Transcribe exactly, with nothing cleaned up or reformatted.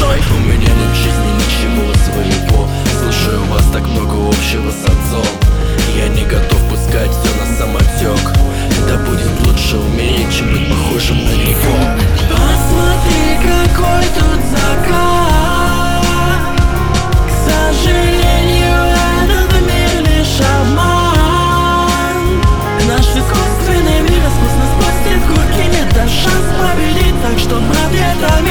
мной. У меня нет в жизни ничего своего. Слушаю вас, так много общего с отцом. Я не готов пускать все на самотек. Да будет лучше умереть, чем быть похожим на него. Посмотри, какой тут закат. К сожалению, этот мир лишь обман. Наш искусственный мир искусно спустит курки. Нет даже шанс победить, так что, брат, это